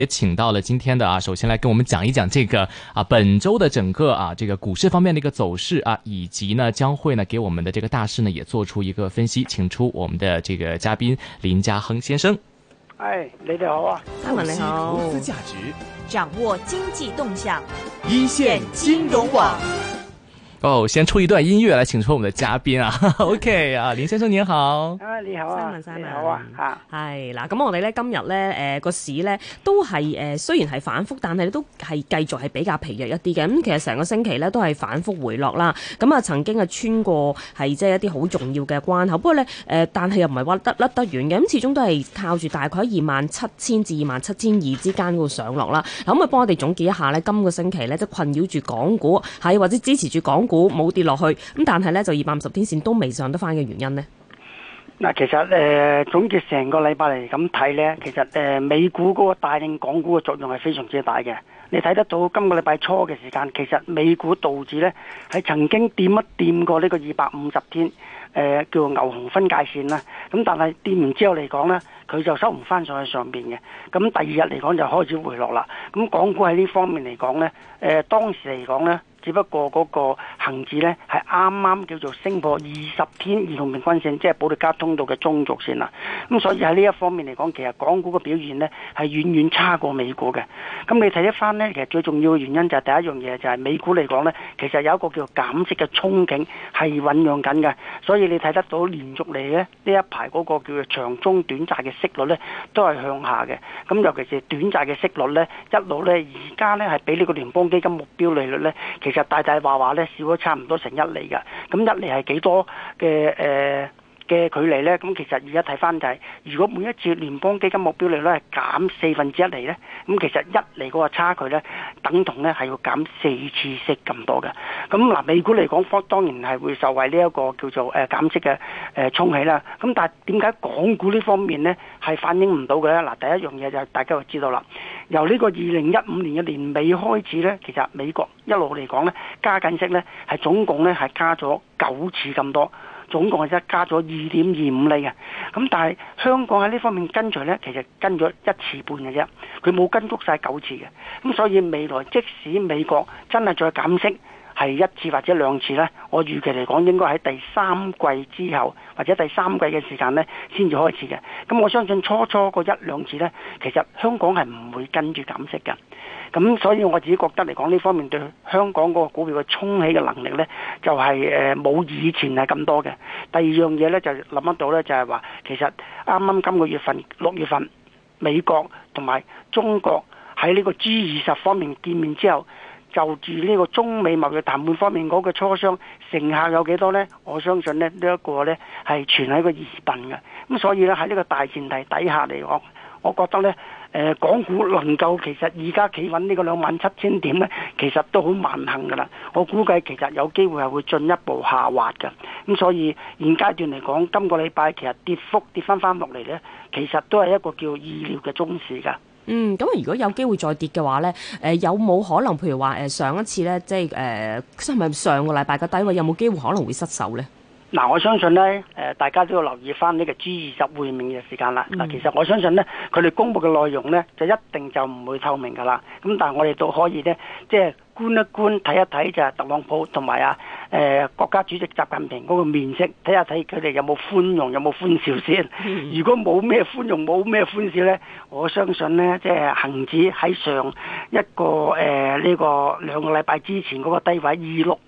也請到了今天的首先來跟我們講一講這個本周的整個這個股市方面的一個走勢以及呢將會呢給我們的這個大勢呢也做出一個分析，請出我們的這個嘉賓林家亨先生。 你哋好啊， 嘉文你好。 投資價值， 掌握經濟動向， 一線金融網。 先出一段音樂來請出我們的嘉賓OK 林先生您好。 你好啊，你好啊， 係嗱，咁我哋咧今日咧個市咧都係雖然係反覆，但係都係繼續係比較疲弱一啲嘅。咁其實成個星期咧都係反覆回落啦。咁曾經穿過係即係一啲好重要嘅關口，不過咧但係又唔係話甩得遠嘅。咁始終都係靠住大概27,000至27,200之間嗰個上落啦。嗱，咁幫我哋總結一下咧，今個星期咧即係困擾住港股係或者支持住港股冇跌落去，咁但係咧就250天線都未上得翻嘅原因呢？ 嗱，其實總結成個禮拜嚟咁睇咧，其實美股嗰個帶領港股嘅作用係非常之大嘅。你睇得到今個禮拜初嘅時間，其實美股道指咧係曾經掂一掂過呢個250天叫做牛熊分界線啦。咁但係掂完之後嚟講咧，佢就收唔翻上去上邊嘅。咁第二日嚟講就開始回落啦。咁港股喺呢方面嚟講咧，當時嚟講咧，只不過嗰個恆指咧係啱啱叫做升破20天移動平均線，即係保利加通道嘅中軸線啦。咁所以喺呢一方面嚟講，其實港股嘅表現咧係遠遠差過美股嘅。咁你睇一翻咧，其實最重要嘅原因就係第一樣嘢就係美股嚟講咧，其實有一個叫做減息嘅憧憬係醖釀緊嘅。所以你睇得到連續嚟咧呢一排嗰個叫做長中短債嘅息率咧都係向下嘅。咁尤其是短債嘅息率咧一路咧而家咧係比呢個聯邦基金目標利率咧其實大話咧少咗差唔多成1厘㗎。咁1厘係幾多嘅距離呢？咁其實而家睇翻就係，如果每一次聯邦基金目標利率係減1/4厘呢，咁其實1厘嗰個差距呢，等同呢係要減4次息咁多嘅。咁嗱，美股嚟講，當然係會受惠呢一個叫做減息嘅沖起啦。咁但係點解港股呢方面呢係反映唔到嘅呢？嗱，第一樣嘢就係大家就知道啦，由呢個2015年嘅年尾開始呢，其實美國一路嚟講呢，加緊息呢係總共呢係加咗9次咁多。總共係加咗2.25厘嘅，咁但係香港喺呢方面跟隨呢，其實跟咗1次半嘅啫，佢冇跟足晒9次嘅，咁所以未來即使美國真係再減息係1次或者2次呢，我預期嚟講應該喺第三季之後或者第三季嘅時間呢先至開始嘅，咁我相信初嗰1-2次呢，其實香港係唔會跟住減息嘅。咁所以我自己覺得嚟講，呢方面對香港嗰個股票嘅衝起嘅能力呢，就係冇以前係咁多嘅。第二樣嘢呢，就諗得到呢，就係話其實啱啱今個月份6月份，美國同埋中國喺呢個 G20 方面見面之後，就住呢個中美貿易談判方面嗰個磋商成效有幾多呢？我相信呢一個呢係存喺個疑問嘅。咁所以呢，喺呢個大前提底下嚟講，我覺得呢。港股能夠其實而家企穩呢個27,000點呢，其實都好萬幸㗎啦。我估計其實有機會係會進一步下滑㗎。咁所以現階段嚟講，今個禮拜其實跌幅跌翻落嚟呢，其實都係一個叫意料嘅中市㗎。 咁如果有機會再跌嘅話呢，有冇可能譬如話上一次呢，即係係咪上個禮拜嘅低位有冇機會可能會失守呢？ 嗱，我相信呢，大家都要留意翻呢個 G20 會面嘅時間啦。嗱，其實我相信呢，佢哋公佈嘅內容呢，就一定就唔會透明噶啦。咁但係我哋都可以呢，即係觀一觀、睇一睇就係特朗普同埋國家主席習近平嗰個面色，睇下睇佢哋有冇寬容、有冇歡笑先。如果冇咩寬容、冇咩歡笑呢，我相信呢，即係恆指喺上一個呢個2個禮拜之前嗰個低位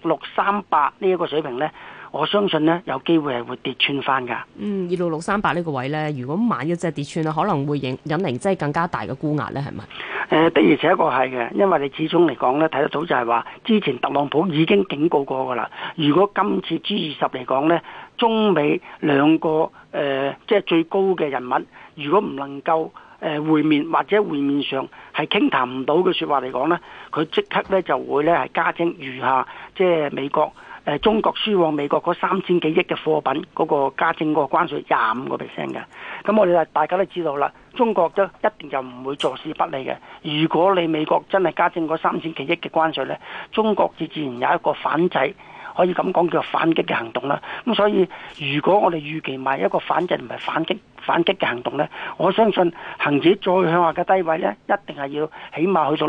26638呢一個水平呢。我相信呢，有機會係會跌穿翻㗎。 26638呢個位呢，如果萬一真係跌穿咧，可能會引嚟即係更加大嘅沽壓呢，係咪？ 的而且確係嘅，因為你始終嚟講呢，睇得到就係話，之前特朗普已經警告過㗎啦。如果今次 G20 嚟講呢，中美兩個即係最高嘅人物，如果唔能夠會面或者會面上係傾談唔到嘅説話嚟講呢，佢即刻呢就會呢係加徵餘下即係美國。中國輸往美國嗰3000幾億嘅貨品嗰個加徵嗰個關稅25%嘅，咁我哋大家都知道啦，中國都一定就唔會坐視不理嘅。如果你美國真係加徵嗰3000幾億嘅關稅呢，中國自然有一個反制可以咁講叫做反擊嘅行動啦。咁所以如果我哋預期埋一個反制唔係反擊嘅行動呢，我相信恒指再向下嘅低位呢，一定係要起碼去到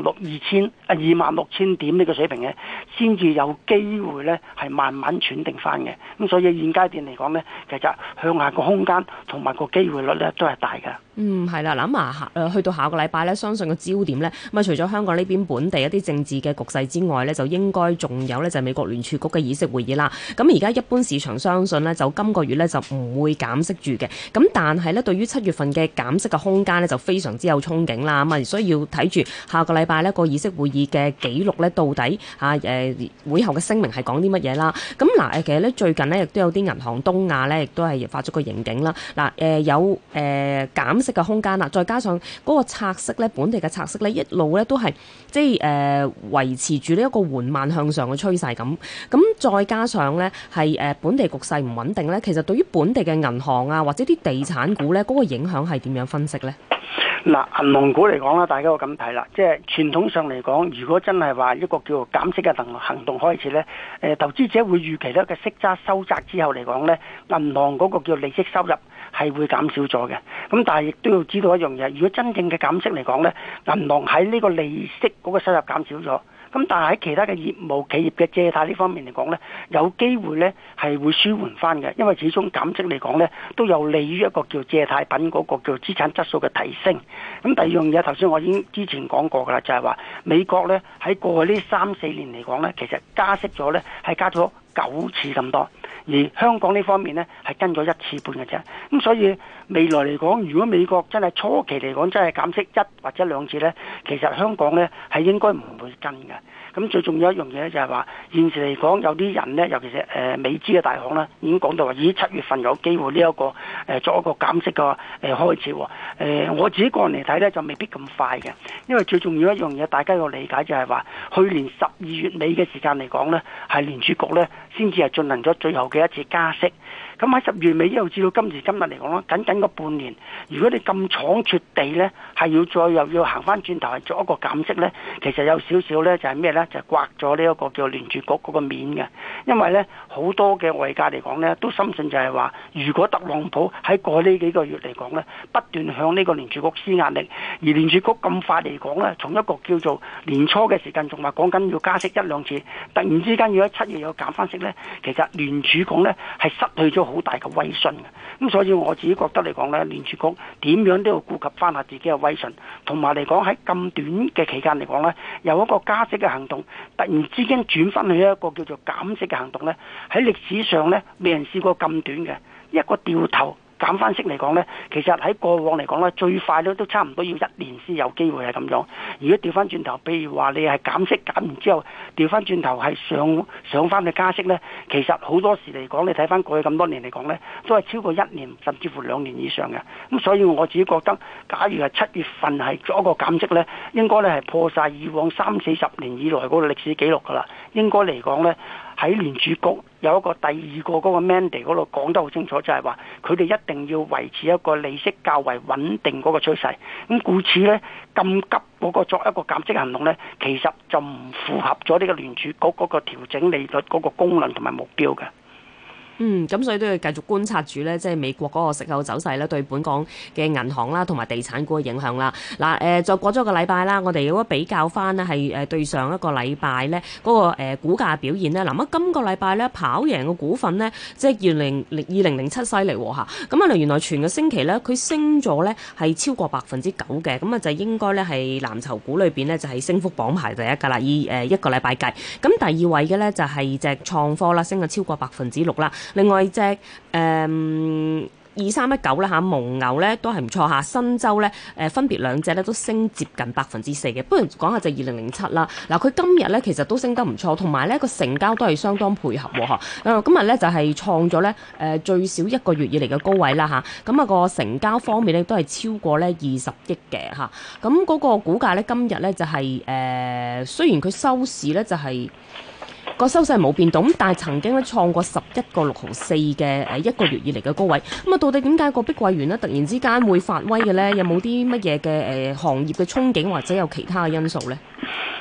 26,000點呢個水平嘅，先至有機會呢係慢慢喘定翻嘅。咁所以現階段嚟講呢，其實向下個空間同埋個機會率呢都係大嘅。 係啦，諗下去到下個禮拜呢，相信個焦點呢，咁啊除咗香港呢邊本地一啲政治嘅局勢之外呢，就應該仲有呢，就係美國聯儲局嘅議息會議啦。咁而家一般市場相信呢，就今個月呢，就唔會減息住嘅。咁但係呢，對於7月份嘅減息嘅空間呢，就非常之有憧憬啦。咁啊，所以要睇住下個禮拜呢個議息會議嘅記錄呢，到底會後嘅聲明係講啲乜嘢啦。咁嗱其實呢，最近呢，亦都有啲銀行東亞呢，亦都係發咗個盈警啦。有減息嘅空間啦，再加上嗰個拆息咧，本地嘅拆息咧，一路咧都係即係維持住呢一個緩慢向上嘅趨勢咁。再加上咧係本地局勢唔穩定咧，其實對於本地嘅銀行啊或者啲地產股咧，嗰個影響係點樣分析咧？ 嗱，銀行股嚟講啦，大家會咁睇啦，即係傳統上嚟講，如果真係話一個叫做減息嘅行動開始咧，投資者會預期咧嘅息差收窄之後嚟講咧，銀行嗰個叫利息收入係會減少咗嘅。咁但係亦都要知道一樣嘢，如果真正嘅減息嚟講咧，銀行喺呢個利息嗰個收入減少咗。咁但係喺其他嘅業務企業嘅借貸呢方面嚟講呢，有機會呢係會舒緩翻嘅，因為始終減息嚟講呢都有利於一個叫借貸品嗰個叫資產質素嘅提升。咁第二樣嘢，頭先我已經之前講過㗎啦，就係話美國呢喺過去呢3-4年嚟講呢，其實加息咗呢係加咗9次咁多，而香港呢方面呢係跟咗1次半嘅啫。咁所以未來嚟講，如果美國真係初期嚟講真係減息1或者2次呢，其實香港呢係應該唔會跟嘅。咁最重要一樣嘢咧就係話，現時嚟講有啲人呢，尤其是美資嘅大行啦，已經講到話，咦7月份有機會呢一個作一個減息嘅開始喎。我自己個人嚟睇呢，就未必咁快嘅，因為最重要一樣嘢，大家要理解就係話，去年12月尾嘅時間嚟講呢，係聯儲局呢先至係進行咗最後嘅一次加息。咁喺10月尾一路至到今時今日嚟講啦，僅個半年，如果你咁倉促地呢，係要再又要行翻轉頭係做一個減息呢，其實有少少呢，就係咩呢？就係刮咗呢一個叫聯儲局嗰個面嘅。因為呢，好多嘅外界嚟講呢，都深信就係話，如果特朗普喺過去呢幾個月嚟講呢，不斷向呢個聯儲局施壓力，而聯儲局咁快嚟講呢，從一個叫做年初嘅時間仲話講緊要加息1-2次，突然之間要喺7月有減翻息呢，其實聯儲局呢係失去咗好大嘅威信嘅。咁所以我自己覺得嚟講呢，聯儲局點樣都要顧及翻下自己嘅威信，同埋嚟講喺咁短嘅期間嚟講呢，有一個加息嘅行動，突然之間轉翻去一個叫做減息嘅行動呢，喺歷史上呢，未人試過咁短嘅一個掉頭減翻息嚟講呢，其實喺過往嚟講呢，最快都差唔多要1年先有機會係咁樣。如果調翻轉頭，譬如話你係減息減完之後，調翻轉頭係上翻去加息呢，其實好多時嚟講，你睇翻過去咁多年嚟講呢，都係超過1年甚至乎2年以上嘅。咁所以我自己覺得，假如係7月份係做一個減息呢，應該呢係破晒以往30-40年以來嗰個歷史紀錄㗎啦。應該嚟講呢，喺聯儲局有一個第二個嗰個 mandate 嗰度講得好清楚，就係話佢哋一定要維持一個利息較為穩定嗰個趨勢。咁故此呢，咁急嗰個作一個減息行動呢，其實就唔符合咗呢個聯儲局嗰個調整利率嗰個功能同埋目標嘅。 咁所以都要繼續觀察住咧，即係美國嗰個息口走勢咧，對本港嘅銀行啦同埋地產股嘅影響啦。嗱，再過咗個禮拜啦，我哋如果比較翻呢係對上一個禮拜咧嗰個股價表現咧，嗱今個禮拜咧跑贏嘅股份咧，即係2007犀利嚇。咁啊，原來全個星期咧佢升咗咧係超過9%嘅，咁啊就應該咧係藍籌股裏邊咧就係升幅榜排第一㗎啦，以一個禮拜計。咁第二位嘅咧就係隻創科啦，升咗超過6%啦。另外隻2319啦嚇，蒙牛咧都係唔錯嚇，新洲咧分別兩隻咧都升接近4%嘅。不如講下隻2007啦，嗱佢今日咧其實都升得唔錯，同埋咧個成交都係相當配合喎嚇。今日咧就係創咗咧最少1個月以嚟嘅高位啦嚇。咁啊個成交方面咧都係超過咧20億嘅嚇。咁嗰個股價咧今日咧就係雖然佢收市咧就係個收勢冇變動，但係曾經咧創過11個6毫4嘅1個月以嚟嘅高位。咁啊，到底點解個碧桂園咧突然之間會發威嘅咧？有冇啲乜嘢嘅行業嘅憧憬或者有其他嘅因素咧？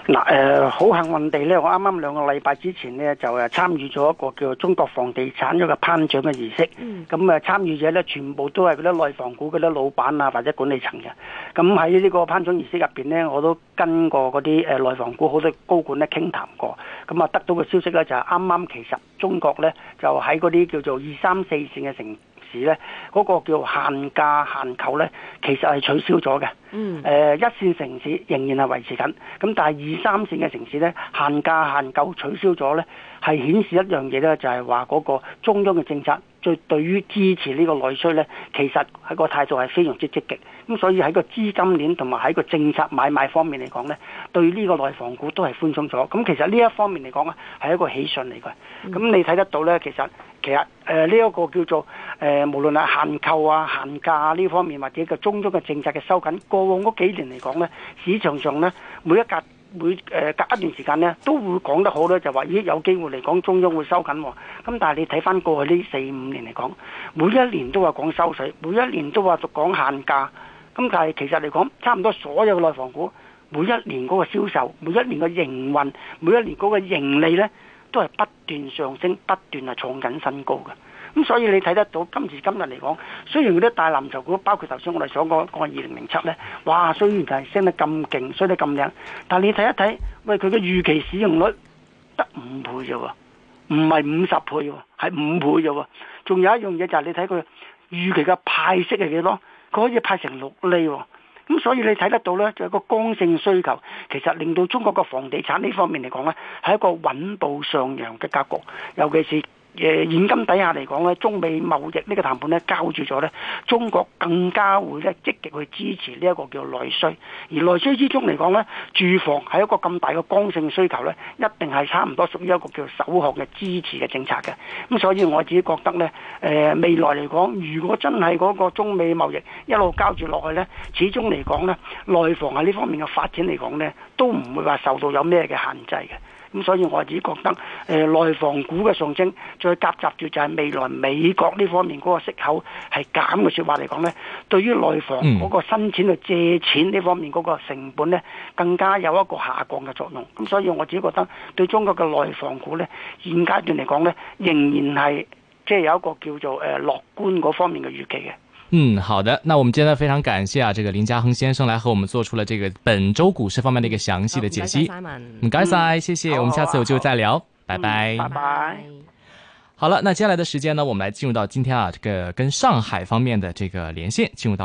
嗱，好幸運地咧，我啱啱2個禮拜之前咧就參與咗一個叫中國房地產一個頒獎嘅儀式。咁參與者咧全部都係嗰啲內房股嗰啲老闆啊或者管理層嘅。咁喺呢個頒獎儀式入邊咧，我都跟過嗰啲內房股好多高管咧傾談過。咁得到嘅消息咧就係啱啱其實中國咧就喺嗰啲叫做2、3、4線嘅城市咧，嗰個叫限價限購咧，其實係取消咗嘅。1線城市仍然係維持緊，咁但係2、3線嘅城市咧，限價限購取消咗咧，係顯示一樣嘢咧，就係話嗰個中央嘅政策對於支持呢個內需咧，其實喺個態度係非常之積極。咁所以喺個資金鏈同埋喺個政策買賣方面嚟講咧，對呢個內房股都係寬鬆咗。咁其實呢一方面嚟講咧，係一個喜訊嚟嘅。咁你睇得到咧，其實呢一個叫做無論係限購啊、限價呢方面，或者個中央嘅政策嘅收緊，過往嗰幾年嚟講咧，市場上咧隔一段時間咧都會講得好咧，就話咦有機會嚟講中央會收緊喎。咁但係你睇翻過去呢4、5年嚟講，每一年都話講收水，每一年都話講限價。咁但係其實嚟講，差唔多所有嘅內房股每一年嗰個銷售、每一年嘅營運、每一年嗰個盈利咧，都係不斷上升，不斷係創緊新高嘅。咁所以你睇得到今時今日嚟講，雖然嗰啲大藍籌股，包括頭先我哋所講2007咧，哇，雖然係升得咁勁，升得咁靚，但係你睇一睇，喂，佢嘅預期市盈率得5倍啫喎，唔係50倍喎，係5倍啫喎。仲有一樣嘢就係你睇佢預期嘅派息係幾多？佢可以派成6厘喎。咁所以你睇得到呢，就係個剛性需求，其實令到中國嘅房地產呢方面嚟講呢，係一個穩步上揚嘅格局。尤其是現今底下嚟講呢，中美貿易呢個談判呢交住咗呢，中國更加會呢積極去支持呢一個叫內需。而內需之中嚟講呢，住房係一個咁大嘅剛性需求呢，一定係差唔多屬於一個叫首項嘅支持嘅政策嘅。咁所以我自己覺得呢，未來嚟講，如果真係嗰個中美貿易一路交住落去呢，始終嚟講呢，內房喺呢方面嘅發展嚟講呢，都唔會話受到有咩嘅限制嘅。咁所以我自己覺得，內房股嘅上升，再夾雜住就係未來美國呢方面嗰個息口係減嘅説話嚟講呢，對於內房嗰個新錢去借錢呢方面嗰個成本呢，更加有一個下降嘅作用。咁所以我自己覺得，對中國嘅內房股呢，現階段嚟講呢，仍然係即係有一個叫做樂觀嗰方面嘅預期嘅。 好的，那我們今天非常感謝這個林家亨先生來和我們做出了這個本周股市方面的一個詳細的解析。唔該晒，謝謝，我們下次有機會再聊，拜拜。 拜拜。 好了，那接下來的時間呢，我們來進入到今天這個跟上海方面的這個連線，進入到